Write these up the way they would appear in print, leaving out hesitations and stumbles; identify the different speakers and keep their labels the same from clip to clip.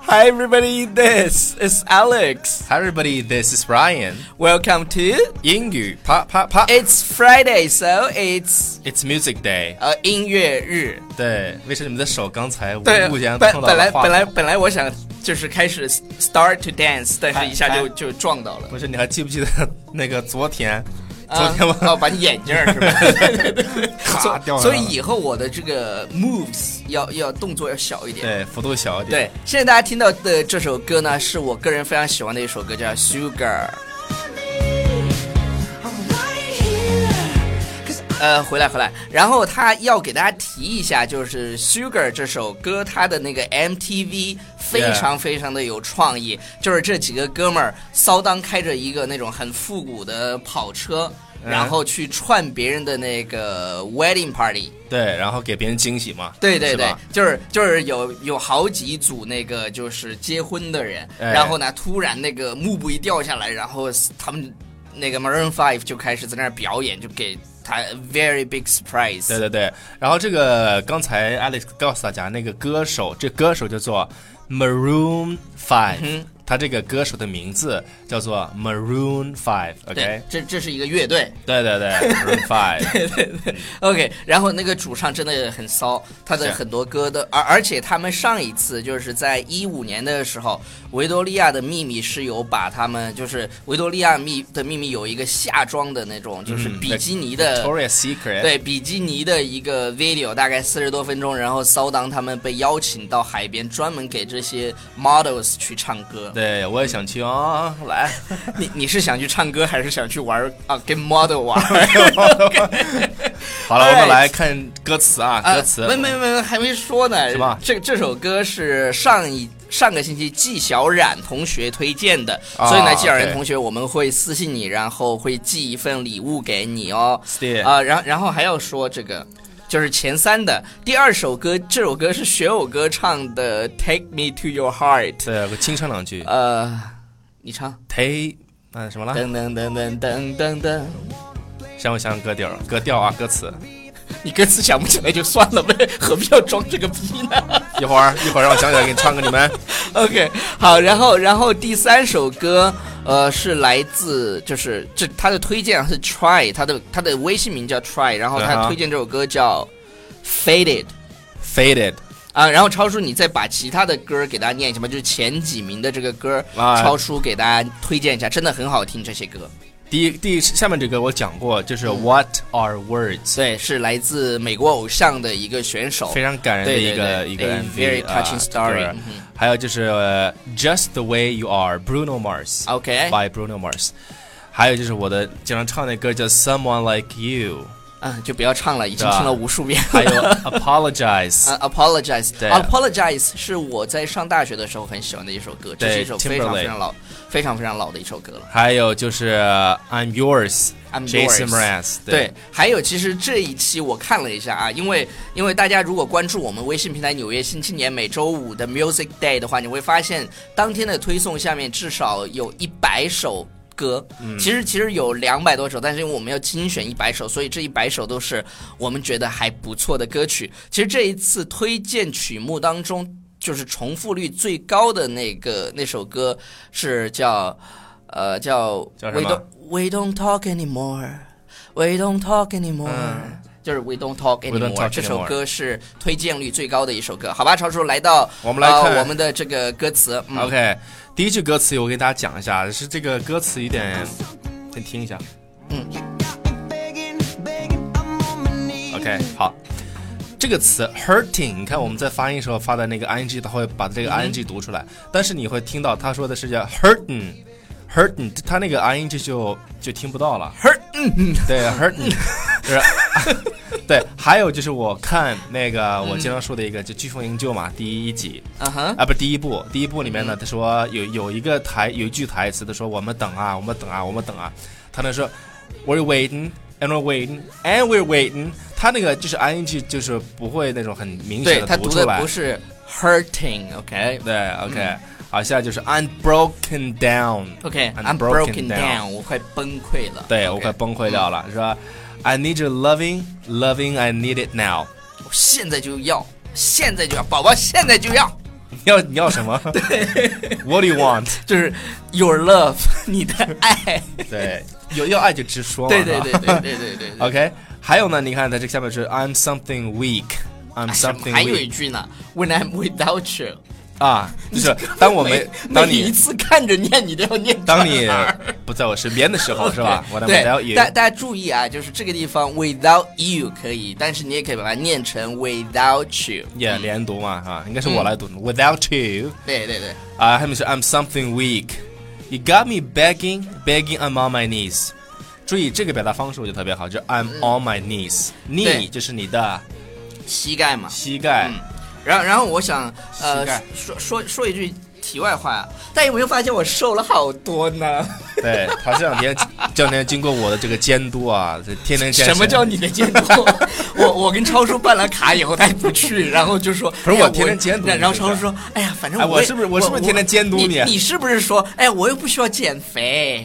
Speaker 1: Hi everybody, this is Alex.
Speaker 2: Hi everybody, this is Ryan.
Speaker 1: Welcome to
Speaker 2: 英语啪啪啪。
Speaker 1: It's Friday, so it's
Speaker 2: Music Day.
Speaker 1: 音乐日。
Speaker 2: 对，为什么你的手刚才无
Speaker 1: 对，
Speaker 2: 故间碰到了话筒？
Speaker 1: 本来我想就是开始 start to dance， 但是一下就撞到了。
Speaker 2: 不是，你还记不记得那个昨天
Speaker 1: 我把你眼镜是吧？
Speaker 2: 咔掉了。
Speaker 1: 所以以后我的这个 moves 要动作要小一点，
Speaker 2: 对，幅度小一点。
Speaker 1: 对，现在大家听到的这首歌呢，是我个人非常喜欢的一首歌，叫 Sugar。回来，然后他要给大家提一下，就是《Sugar》这首歌，它的那个 MTV 非常的有创意，就是这几个哥们儿骚当开着一个那种很复古的跑车，然后去串别人的那个 wedding party。
Speaker 2: 对，然后给别人惊喜嘛。
Speaker 1: 对，就是有好几组那个就是结婚的人，然后呢，突然那个幕布一掉下来，然后他们那个 Maroon 5就开始在那儿表演，就给他 very big surprise。
Speaker 2: 对，然后这个刚才 Alex 告诉大家，那个歌手，这歌手叫做 Maroon 5，他这个歌手的名字叫做 Maroon 5，OK，
Speaker 1: 这是一个乐队。
Speaker 2: 对，Maroon 5，
Speaker 1: 对，OK。然后那个主唱真的很骚，他的很多歌的，而且他们上一次就是在15年的时候，维多利亚的秘密是有把他们，就是维多利亚的秘密有一个夏装的那种，就是比基尼的
Speaker 2: Victoria's Secret，
Speaker 1: 对，比基尼的一个 video， 大概40多分钟，然后骚当他们被邀请到海边，专门给这些 models 去唱歌。
Speaker 2: 对，我也想去啊，来。
Speaker 1: 你是想去唱歌，还是想去玩啊？跟 model 玩？
Speaker 2: 好了，我们来看歌词啊，歌词。
Speaker 1: 没，还没说呢。
Speaker 2: 什么？
Speaker 1: 这首歌是上个星期季小冉同学推荐的，所以呢，季小冉同学我们会私信你，然后会寄一份礼物给你哦。然后还要说这个。就是前3的第2首歌，这首歌是学友歌唱的 Take Me to Your Heart。
Speaker 2: 对，我清唱两句。
Speaker 1: 你唱
Speaker 2: Take 什么了？
Speaker 1: 噔噔噔噔噔噔噔，
Speaker 2: 像不像歌调啊？歌词
Speaker 1: 你歌词想不起来就算了呗，何必要装这个逼呢？
Speaker 2: 一会儿让我想起来给你唱给你们。
Speaker 1: OK， 好，然后第3首歌，是来自就是他的推荐是 Try， 他的微信名叫 Try， 然后他推荐这首歌叫 Faded。然后超叔，你再把其他的歌给大家念一下吧，就是前几名的这个歌，超叔给大家推荐一下，真的很好听这些歌。
Speaker 2: 下面这个我讲过，就是 What Are Words，
Speaker 1: 对，是来自美国偶像的一个选手，
Speaker 2: 非常感人的一个
Speaker 1: MV， very touching story。
Speaker 2: 还有就是Just the Way You Are Bruno Mars，OK， by Bruno Mars。还有就是我的经常唱的歌叫 Someone Like You。
Speaker 1: 就不要唱了，已经听了无数遍。
Speaker 2: 还有
Speaker 1: Apologize，Apologize 是我在上大学的时候很喜欢的一首歌，这是一首非常老的一首歌了。
Speaker 2: 还有就是 I'm Yours，Jason Mraz。
Speaker 1: 对，还有其实这一期我看了一下啊，因为大家如果关注我们微信平台纽约新青年每周5的 Music Day 的话，你会发现当天的推送下面至少有100首歌，其实有200多首，但是因为我们要精选100首，所以这100首都是我们觉得还不错的歌曲。其实这一次推荐曲目当中，就是重复率最高的那首歌是叫We Don't Talk Anymore，We Don't Talk Anymore。就是 We Don't Talk Anymore， 这首歌是推荐率最高的一首歌。好吧，超叔，来到
Speaker 2: 我们来看
Speaker 1: 我们的这个歌词。
Speaker 2: OK， 第一句歌词我给大家讲一下，是这个歌词有点，先听一下。OK， 好，这个词 hurting， 你看我们在发音时候发的那个 ing， 它会把这个 ing 读出来，但是你会听到他说的是叫 hurting， 他那个 ing 就听不到了。对 hurting。就是对，还有就是我看那个我经常说的一个就《飓风营救》嘛，第一集，不是第一部里面呢，他说有一句台词，他说我们等啊，他那说 We're waiting and we're waiting and we're waiting， 他那个就是 ing 就是不会那种很明显的读出来，对，他读的
Speaker 1: 不是 hurting，OK，
Speaker 2: 对 ，OK。好，现在就是 I'm broken down。OK，I'm
Speaker 1: broken down， 我快崩溃了。
Speaker 2: 对，我快崩溃掉了，是吧？I need your loving, I need it now。
Speaker 1: 我现在就要，宝宝现在就要。
Speaker 2: 你要什么？对 ，What do you want？
Speaker 1: 就是 your love， 你的爱。
Speaker 2: 对，要爱就直说嘛。
Speaker 1: 对。
Speaker 2: OK， 还有呢，你看它这下面是 I'm something weak。I'm something weak。
Speaker 1: 还有一句呢 ，When I'm without you。
Speaker 2: 啊，就是当你
Speaker 1: 一次看着念，你都要念。
Speaker 2: 当你不在我身边的时候，是吧？我 without you。
Speaker 1: 大家注意啊，就是这个地方 without you 可以，但是你也可以把它念成 without you。
Speaker 2: 连读嘛，啊，应该是我来读，without you。
Speaker 1: 对。
Speaker 2: 他们是 I'm something weak。You got me begging I'm on my knees。注意这个表达方式我觉得特别好，就是 I'm on my knees。knee 就是你的
Speaker 1: 膝盖嘛。
Speaker 2: 膝盖。
Speaker 1: 然后我想说一句题外话，但有没有发现我瘦了好多呢？
Speaker 2: 对，他这两天经过我的这个监督啊，天天健身。
Speaker 1: 什么叫你的监督？我跟超叔办了卡以后，他也不去，然后就说
Speaker 2: 不是我天天监督。
Speaker 1: 然后超叔说：“哎呀，反正
Speaker 2: 我是不是天天监督你？
Speaker 1: 你是不是说，哎，我又不需要减肥？”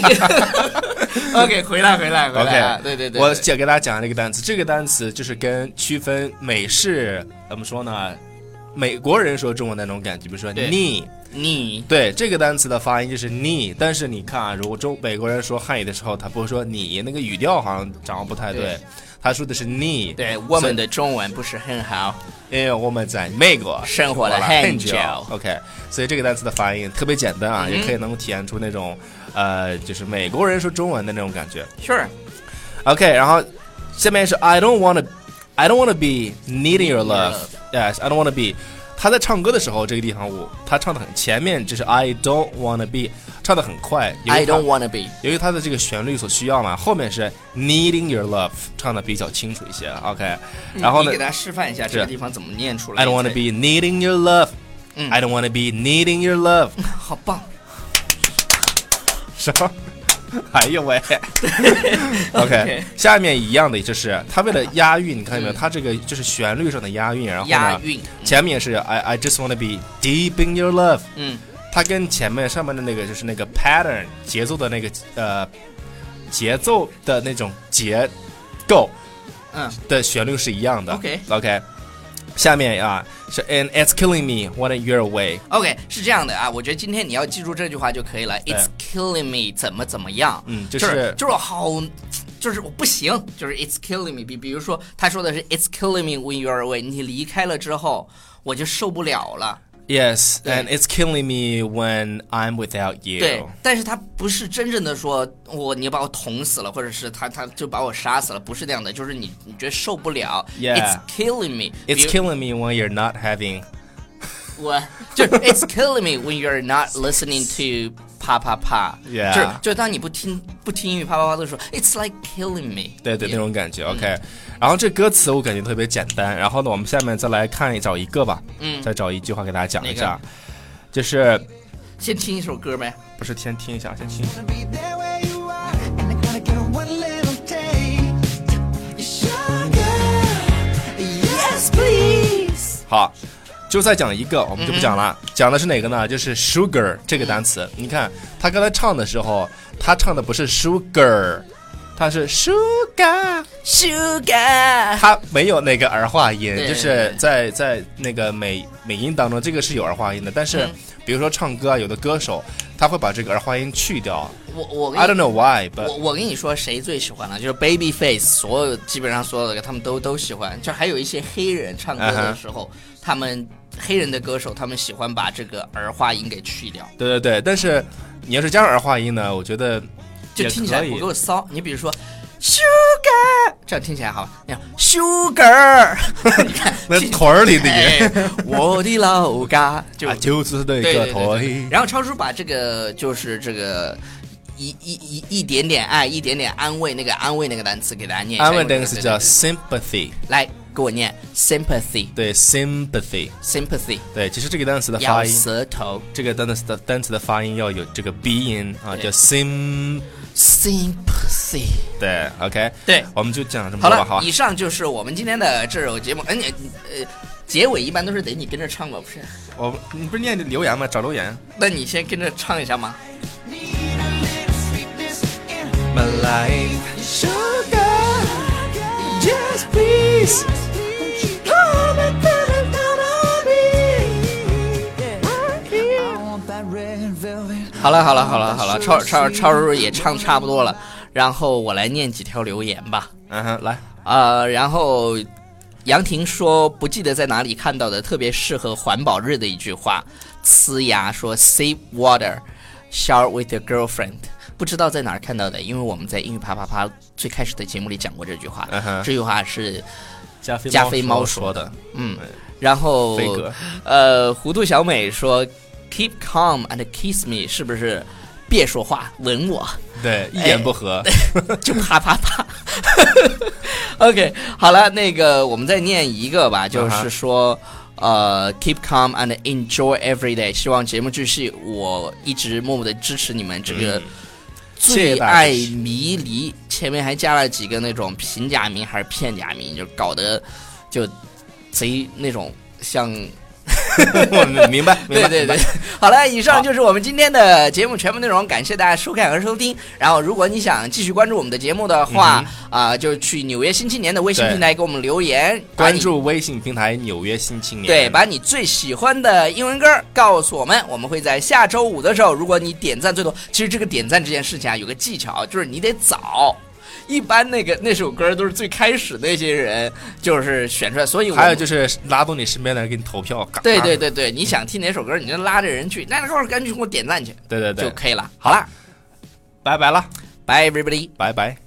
Speaker 1: OK， 回来。
Speaker 2: OK，
Speaker 1: 对。
Speaker 2: 我给大家讲这个单词，这个单词就是跟区分美式怎么说呢？美国人说中文的那种感觉，比如说 knee， 对，这个单词的发音就是 knee， 但是你看啊，如果美国人说汉语的时候，他不会说你，那个语调好像掌握不太对，他说的是 knee。
Speaker 1: 对，我们的中文不是很好，
Speaker 2: 因为我们在美国
Speaker 1: 生活了很久。
Speaker 2: OK， 所以这个单词的发音特别简单啊，也可以能体现出那种就是美国人说中文的那种感觉。
Speaker 1: Sure。
Speaker 2: OK， 然后下面是 I don't wanna be needing your love。Yes, I don't wanna be。他在唱歌的时候，这个地方他唱的很前面，就是 I don't wanna be， 唱的很快。
Speaker 1: I don't wanna be，
Speaker 2: 由于他的这个旋律所需要嘛，后面是 needing your love， 唱的比较清楚一些。OK， 然后呢，
Speaker 1: 你给大家示范一下这个地方怎么念出来。
Speaker 2: I don't wanna be needing your love。I don't wanna be needing your love。
Speaker 1: 好棒。
Speaker 2: 什么？哎呦喂！OK， 下面一样的就是他为了押韵，你看到没有？他这个就是旋律上的押韵，然后呢，前面是 I just wanna be deep in your love。它跟前面上面的那个就是那个 pattern 节奏的那个节奏的那种结构，的旋律是一样的。OK。下面啊是 And it's killing me when you're away。OK，
Speaker 1: 是这样的啊，我觉得今天你要记住这句话就可以了。It's killing me 怎么样？就是好，就是我不行，就是 It's killing me。比如说他说的是 It's killing me when you're away， 你离开了之后我就受不了了。
Speaker 2: Yes, and it's killing me when I'm without you。
Speaker 1: 对，但是他不是真正的说你把我捅死了，或者是他就把我杀死了，不是这样的，就是你觉得受不了。It's killing me.
Speaker 2: It's killing me when you're not having。
Speaker 1: 就 It's killing me when you're not listening to 啪啪啪。就当你不听英语啪啪啪的时候 ，It's like killing me。
Speaker 2: 对，那种感觉。OK，然后这歌词我感觉特别简单。然后呢，我们下面再来找一个吧。再找一句话给大家讲一下，就是
Speaker 1: 先听一首歌呗。
Speaker 2: 不是，先听一下，先听。好。就再讲一个，我们就不讲了。讲的是哪个呢？就是 sugar 这个单词。你看他刚才唱的时候，他唱的不是 sugar， 他是 sugar， 他没有那个儿化音，就是在那个美音当中，这个是有儿化音的。但是比如说唱歌啊，有的歌手他会把这个儿化音去掉。I don't know why， but
Speaker 1: 我跟你说谁最喜欢了，就是 Babyface， 基本上所有的他们都喜欢。就还有一些黑人唱歌的时候，他们黑人的歌手他们喜欢把这个儿化音给去掉。
Speaker 2: 对，但是你要是加上儿化音呢，我觉得
Speaker 1: 就听起来不够骚。你比如说 sugar， 这样听起来好。你看 sugar， 你看
Speaker 2: 那腿儿里的音，
Speaker 1: 我的老家
Speaker 2: 就是那个腿。
Speaker 1: 然后超叔把这个就是这个一点点爱，一点点安慰，那个安慰那个单词给大家念一下。
Speaker 2: 安慰单词叫 sympathy。
Speaker 1: 来给我念 sympathy。
Speaker 2: 对 sympathy。对，其实这个单词的发音，
Speaker 1: 咬舌头，
Speaker 2: 这个单词的发音要有这个鼻音啊，叫 sympathy。对 ，OK，
Speaker 1: 对，
Speaker 2: 我们就讲这么多吧。
Speaker 1: 好了，以上就是我们今天的这首节目。结尾一般都是得你跟着唱吧，不是？
Speaker 2: 你不是念留言吗？找留言。
Speaker 1: 那你先跟着唱一下吗
Speaker 2: ？My life, sugar, just please, come and put it down on me.
Speaker 1: 好了，超叔也唱差不多了，然后我来念几条留言吧。
Speaker 2: 来，
Speaker 1: 然后杨婷说不记得在哪里看到的特别适合环保日的一句话，呲牙说 Save water, shower with your girlfriend， 不知道在哪儿看到的，因为我们在英语啪啪啪最开始的节目里讲过这句话，这句话是加菲猫说的，然后糊涂小美说 Keep calm and kiss me， 是不是别说话吻我？
Speaker 2: 对，一言不合
Speaker 1: 就啪啪啪。OK， 好了，那个我们再念一个吧，就是说keep calm and enjoy every day， 希望节目继续，我一直默默的支持你们这个最爱迷离，前面还加了几个那种平假名还是片假名，就搞得就贼那种像
Speaker 2: 我明白，
Speaker 1: 对，好了，以上就是我们今天的节目全部内容，感谢大家收看和收听。然后，如果你想继续关注我们的节目的话，就去纽约新青年的微信平台给我们留言，
Speaker 2: 关注微信平台纽约新青年，
Speaker 1: 对，把你最喜欢的英文歌告诉我们，我们会在下周五的时候，如果你点赞最多，其实这个点赞这件事情啊，有个技巧，就是你得早。一般那首歌都是最开始那些人就是选出来，所以
Speaker 2: 还有就是拉动你身边的人给你投票。
Speaker 1: 对，你想听哪首歌，你就拉着人去，那赶紧给我点赞去，
Speaker 2: 对，
Speaker 1: 就可以了。好了，
Speaker 2: 拜拜了，
Speaker 1: ，Bye everybody，
Speaker 2: 拜拜。